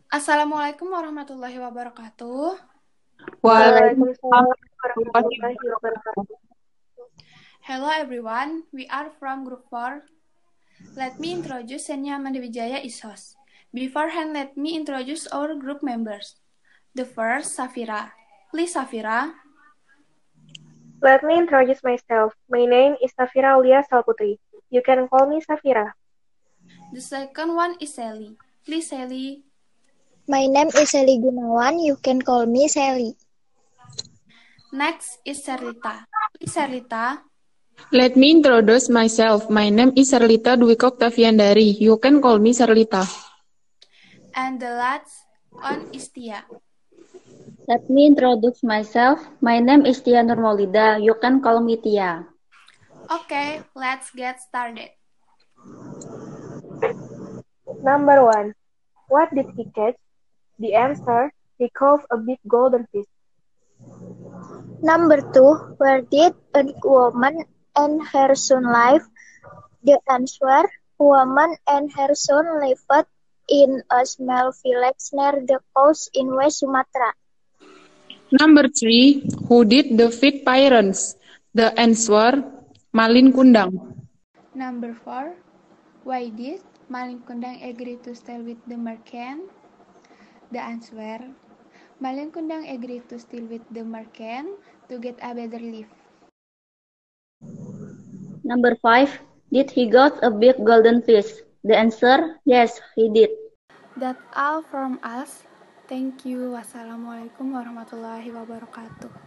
Assalamualaikum warahmatullahi wabarakatuh. Waalaikumsalam Waalaikumsalam warahmatullahi warahmatullahi wabarakatuh. wabarakatuh. Hello everyone, we are from Group 4. Let me introduce Senya Mandewijaya is host. Beforehand, let me introduce our group members. The first, Safira. Please, Safira. Let me introduce myself. My name is Safira Aulia Salputri. You can call me Safira. The second one is Sally. Please, Sally. My name is Sally Gunawan. You can call me Sally. Next is Serlita. Please, Serlita. Let me introduce myself. My name is Serlita Dwiko Octaviandari. You can call me Serlita. And the last one is Tia. Let me introduce myself. My name is Tia Nurmaulida. You can call me Tia. Okay, let's get started. Number 1. What did he catch? The answer, he caught a big golden fish. Number 2. Where did a woman and her son live? The answer, woman and her son lived in a small village near the coast in West Sumatra. Number 3. Who did the feed parents? The answer, Malin Kundang. Number 4. Why did Malin Kundang agree to stay with the merchant? The answer, Malin Kundang agreed to stay with the merchant to get a better life. Number 5. Did he got a big golden fish? The answer, yes, he did. That's all from us. Thank you. Wassalamualaikum warahmatullahi wabarakatuh.